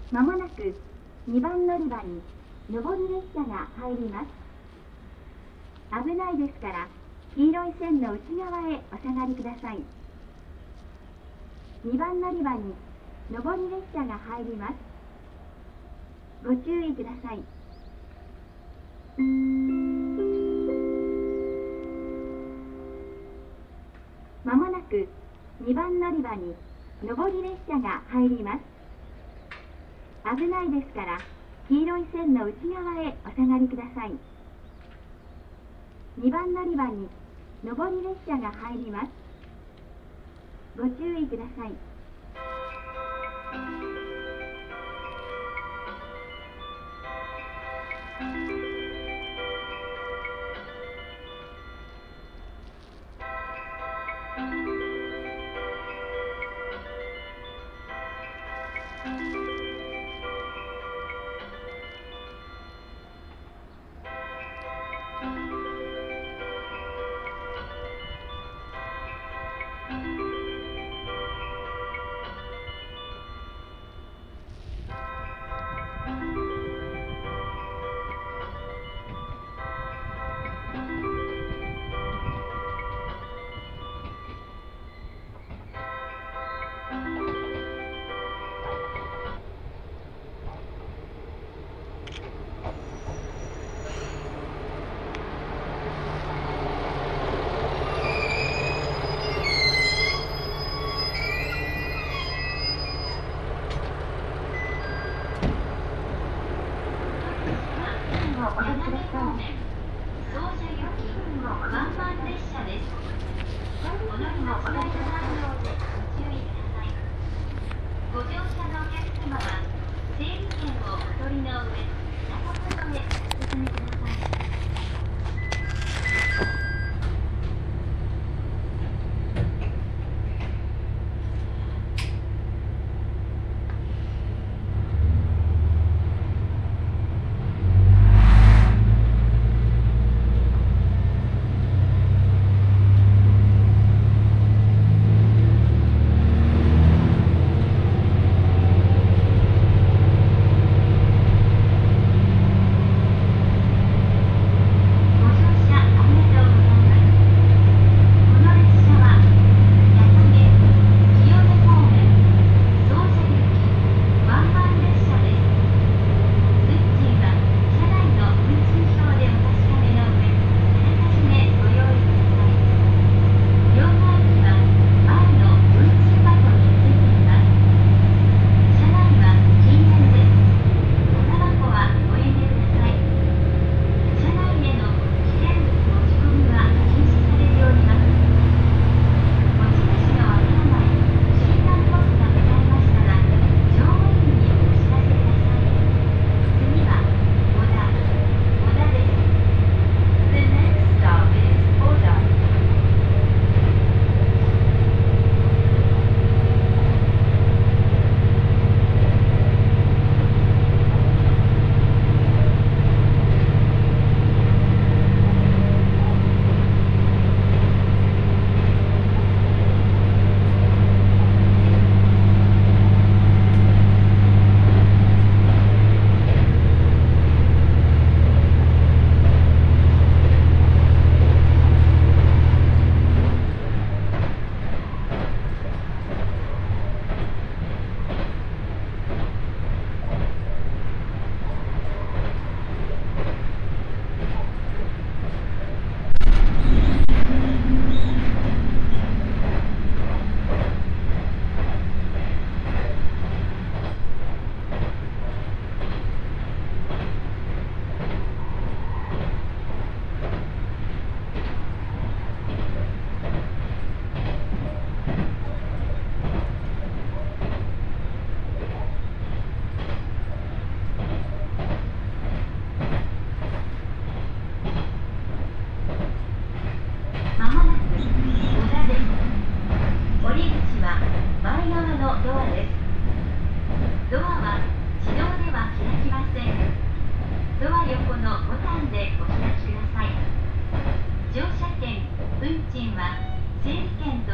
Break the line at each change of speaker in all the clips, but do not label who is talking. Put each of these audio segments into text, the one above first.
まもなく2番乗り場に上り列車が入ります。危ないですから黄色い線の内側へお下がりください。2番乗り場に上り列車が入ります。ご注意ください。まもなく2番乗り場に上り列車が入ります。危ないですから黄色い線の内側へお下がりください。2番乗り場に上り列車が入ります。ご注意ください。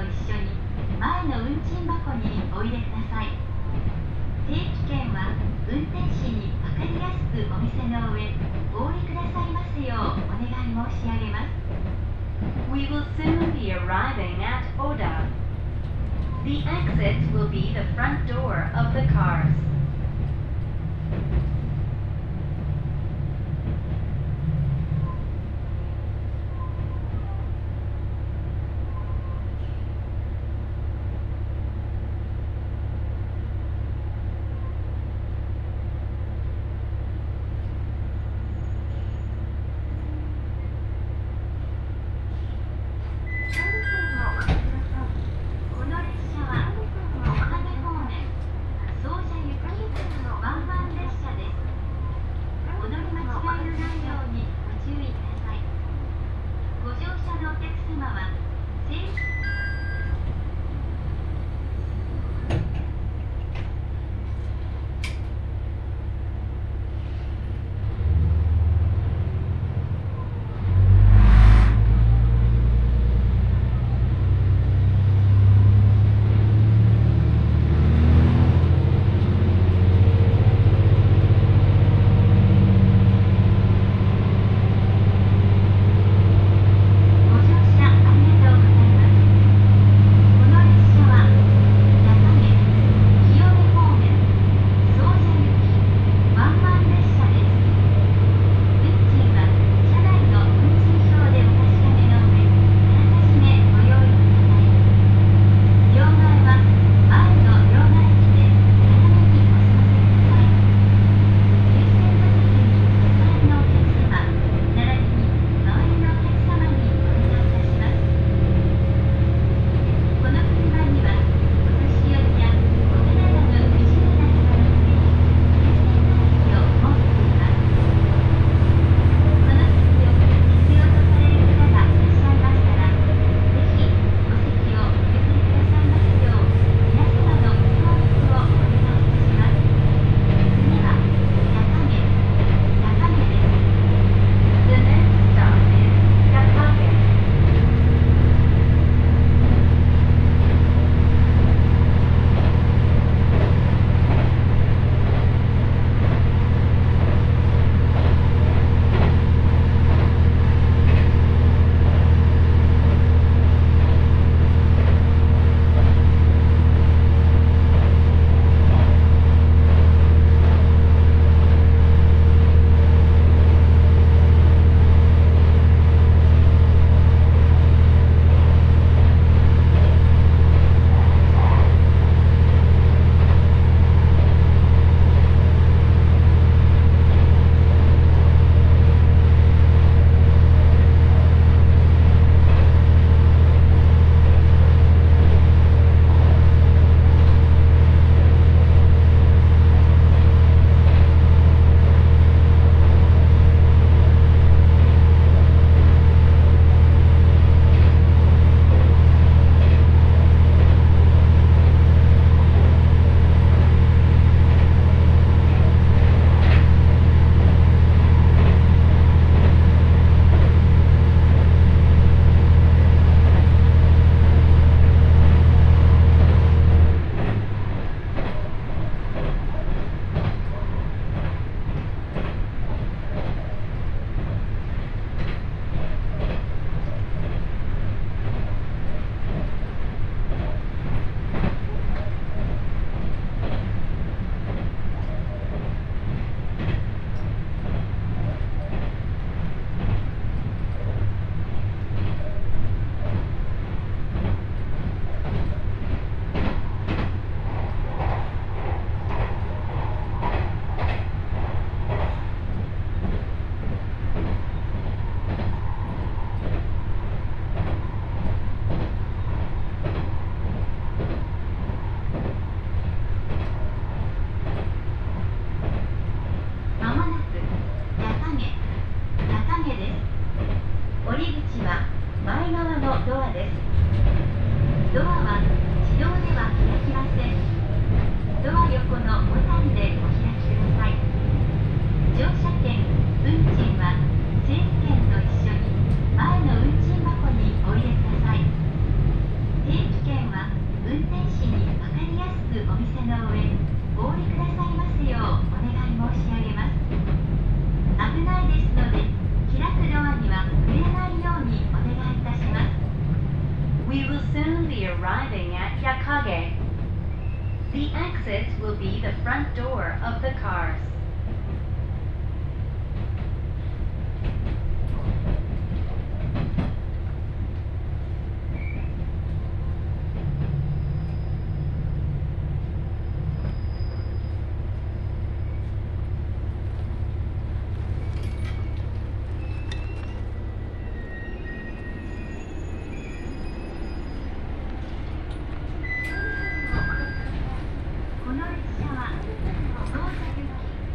運 We will soon be arriving at Oda. The exit will be the front door of the cars. Kage. The exits will be the front door of the cars.
この列車は到着時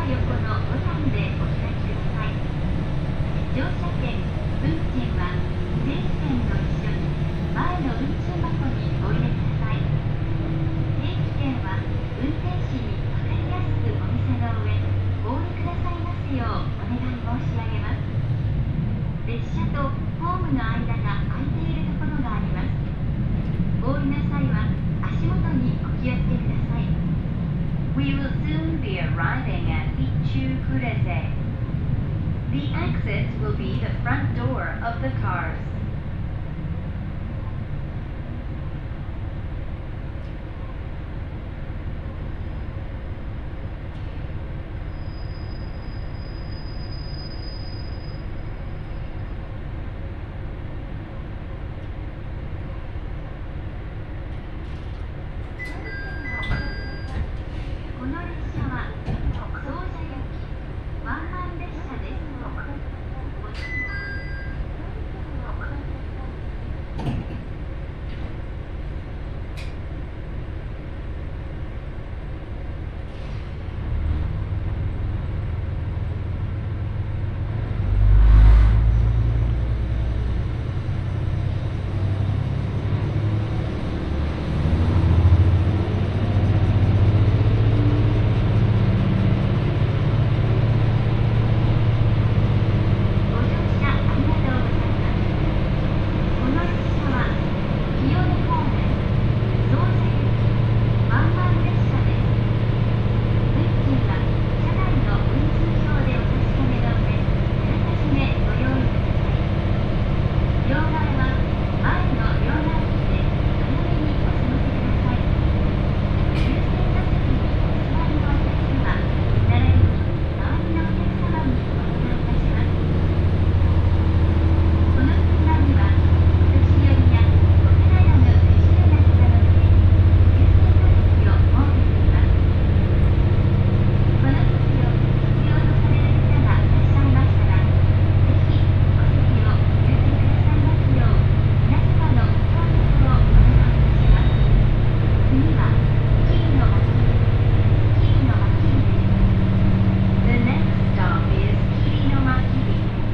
横のボタンでお開きください。乗車券、運賃は整理券と一緒に前の運賃箱にお入れください。定期券は運転士に分かりやすくお見せの上、お降りくださいますようお願い申し上げます。列車とホームの間が空いているところがあります。お降りの際は足元にお気をつけください。
We will soon be arriving at Ichu-Kurese. The exit will be the front door of the cars.
この列車は総社行きワンマン列車です。ご乗車ありがとうございます。この列車は清根方面総社行きワンマン列車です。運賃は車内の運賃表でお確かめの上、あらかじめご用意ください。両替は前の両替機で早めにお済ませください。優先座席にお座りのお客様、並びに周りのお客様にお願いいたします。この空間にはお年寄りやお体の不自由な方のために優先座席を設けています。この席を必要とされる方がいらっしゃいましたら、ぜひお席を譲ってくださいますよう皆様のご協力をお願いいたします。次は桐野真備です。
The next stop is Kirinomakiri.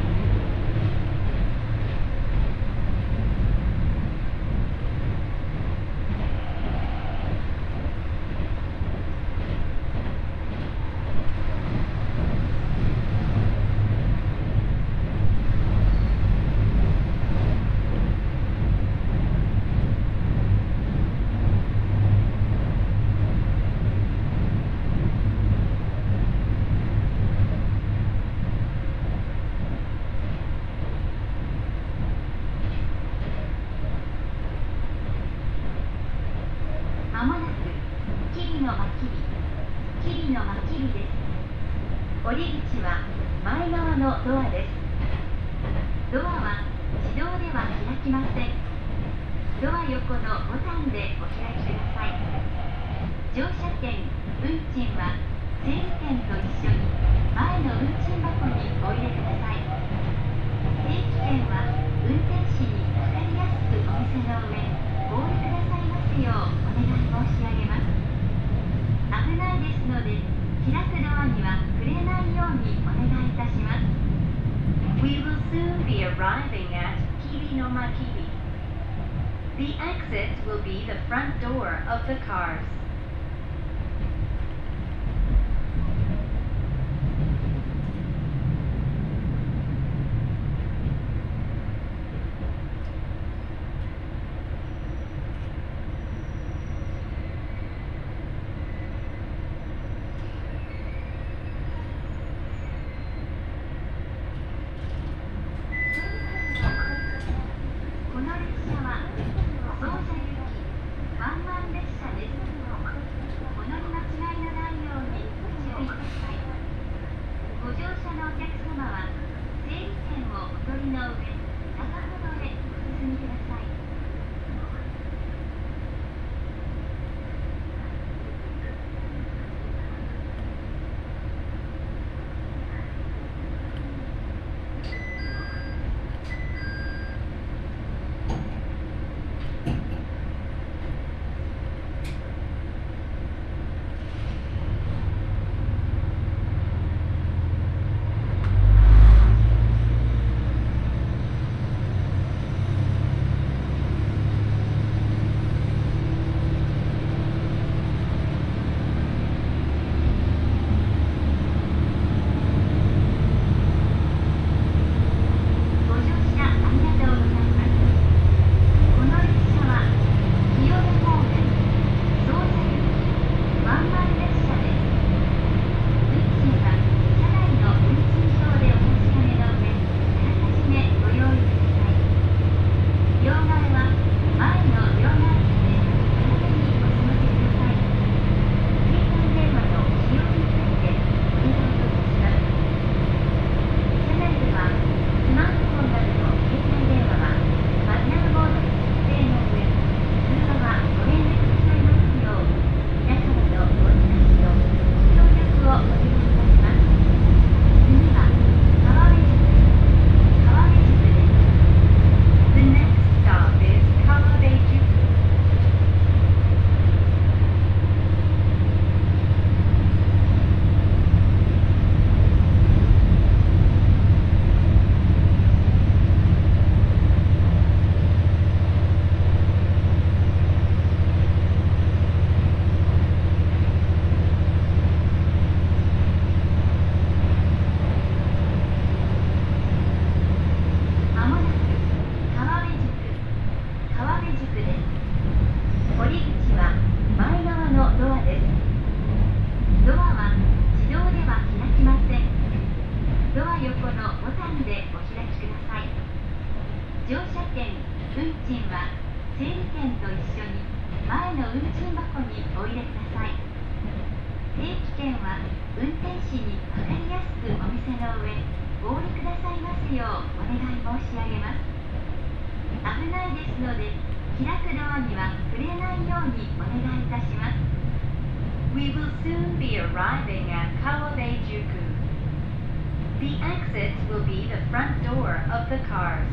まもなく桐野真備です。降り口は前側のドアです。ドアは自動では開きません。ドア横のボタンでお開きください。乗車券、運賃は整理券と一緒に前の運賃箱にお入れください。定期券は運転士に分かりやすくお見せの上、お降りくださいますようお願い申し上げます。危ないですので、開くドアには触れないようにお願いいたします。
We will soon be arriving at Kirinomakiri. The exit will be the front door of the cars.
この列車は総社行きワンマン列車です。お乗り間違いのないようにご注意ください。ご乗車のお客様は整理券をお取りの上、中ほどへお進みください。 ア横のボタンでお開きください。乗車券、運賃は整理券と一緒に前の運賃箱にお入れください。定期券は運転士に分かりやすくお見せの上、お降りくださいますようお願い申し上げます。危ないですので、開くドアには触れないようにお願いいたします。
We will soon be arriving at Kawabejuku. The exits will be the front door of the cars.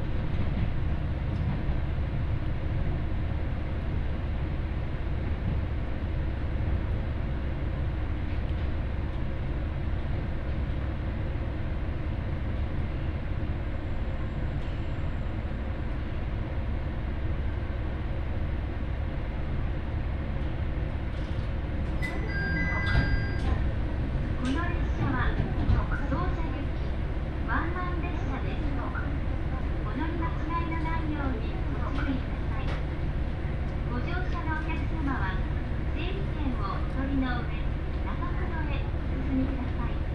この列車は総社行きワンマン列車です。お乗り間違いのないようにご注意ください。ご乗車のお客様は整理券をお取りの上、中ほどへお進みください。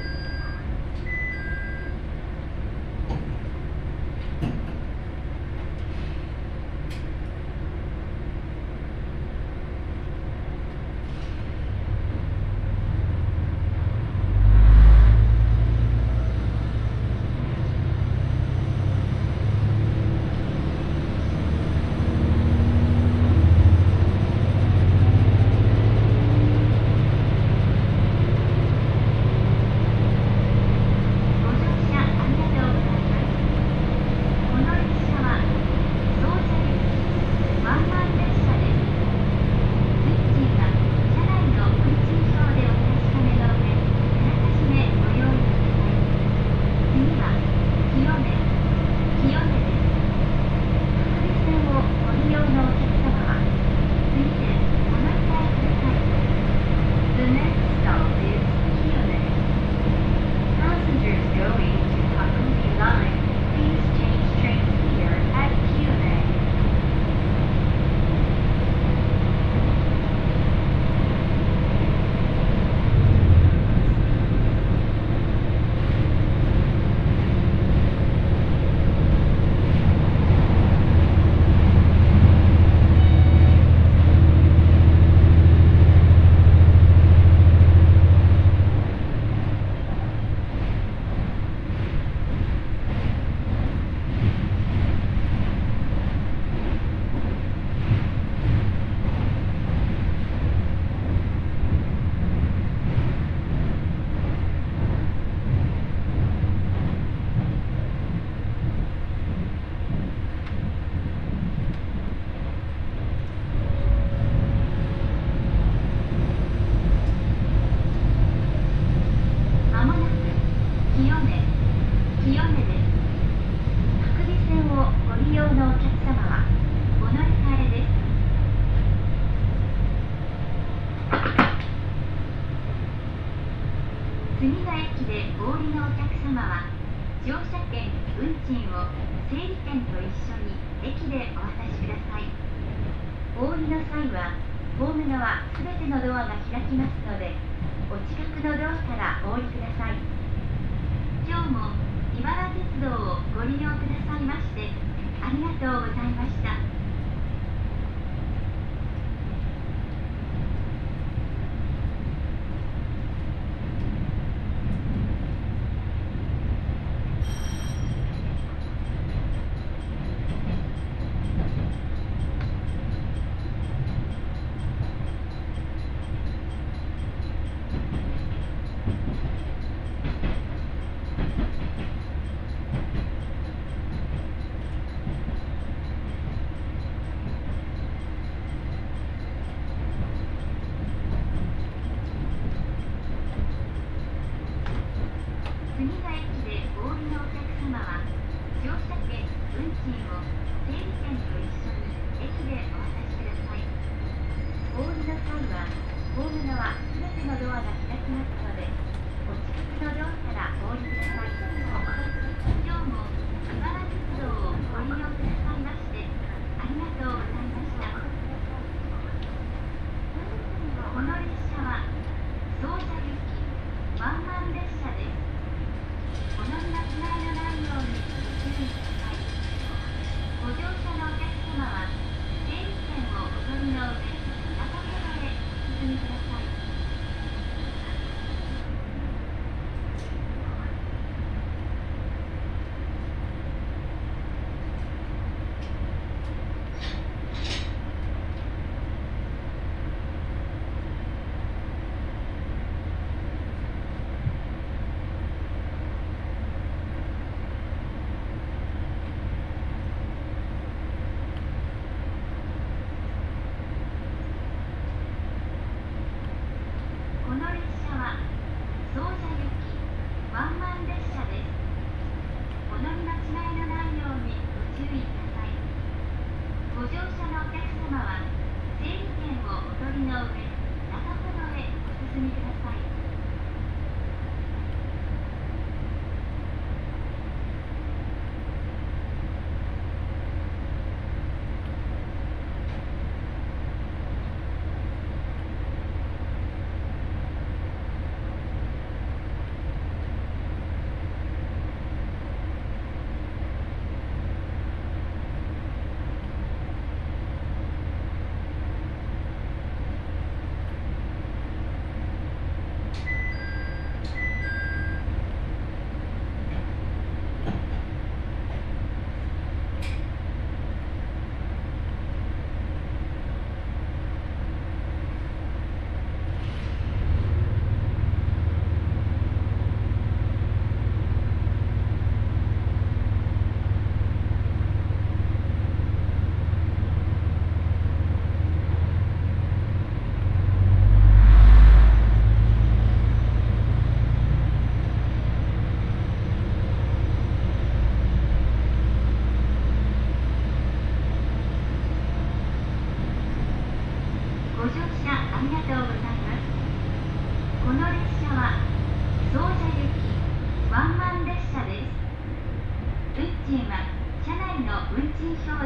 次の駅でお降りのお客様は乗車券、運賃を整理券と一緒に駅でお渡しください。お降りの際はホーム側すべてのドアが開きますので、お近くのドアからお降りください。今日も茨鉄道をご利用くださいましてありがとうございました。次の駅でお降りのお客様は乗車券、運賃を整理券と一緒に駅でお渡しください。お降りの際はホーム側すべてのドアが開きますので、お近くのドアからお降りください。今日も茨鉄道をご利用くださいましてありがとうございました。この列車は総社行きワンマン列車です。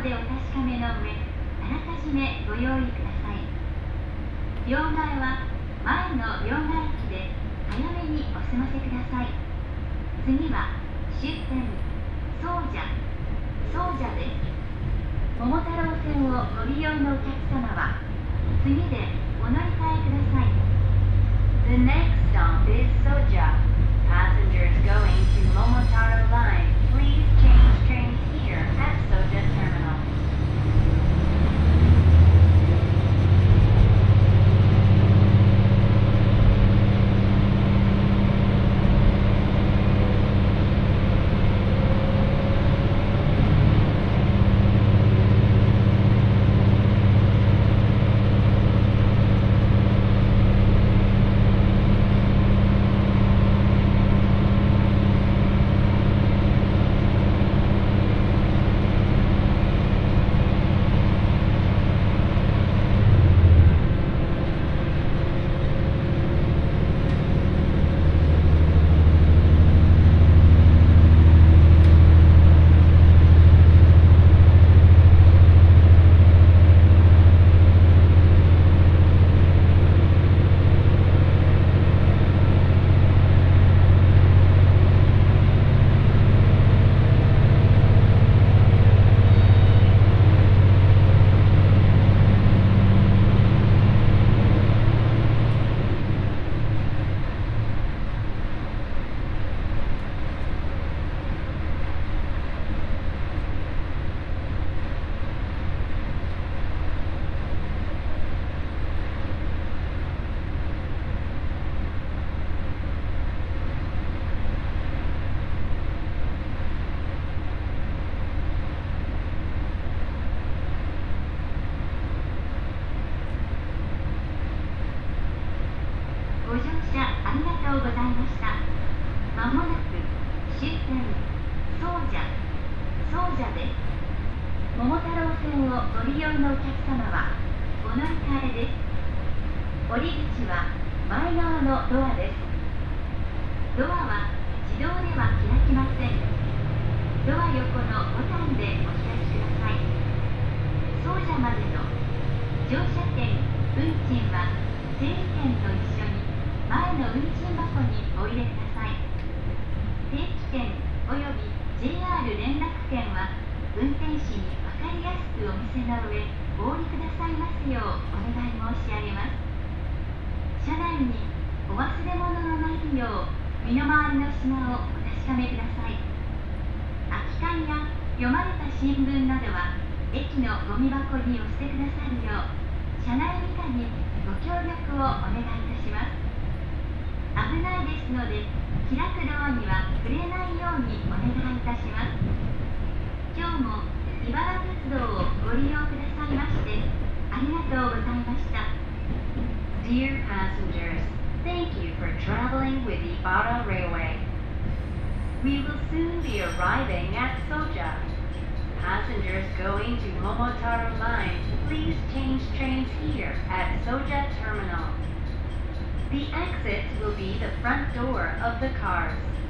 でお確かめの上、あらかじめご用意ください。両替は前の両替機で早めにお済ませください。次は終点総社です。桃太郎線をご利用のお客様は次でお乗り換えください。
The next stop is Soja. Passengers going to Momotaro Line, please change trains here at Soja Terminal.
ご乗車ありがとうございました。まもなく終点総社です。桃太郎線をご利用のお客様はお乗り換えです。降り口は前側のドアです。ドアは自動では開きません。ドア横のボタンでお開きください。総社までの乗車券、運賃は整理券と一緒に前の運賃箱にお入れください。定期券および JR 連絡券は運転士に分かりやすくお見せの上お降りくださいますようお願い申し上げます。車内にお忘れ物のないよう身の回りの品をお確かめください。空き缶や読まれた新聞などは駅のゴミ箱にお捨てくださるよう車内理科にご協力をお願いいたします。危ないですので開くドアには触れないようにお願いいたします。今日も茨鉄道をご利用くださいましてありがとうございました。
Dear passengers, thank you for traveling with Ibara Railway. We will soon be arriving at Soja. Passengers going to Momotaro Line, please change trains here at Soja Terminal. The exits will be the front door of the cars.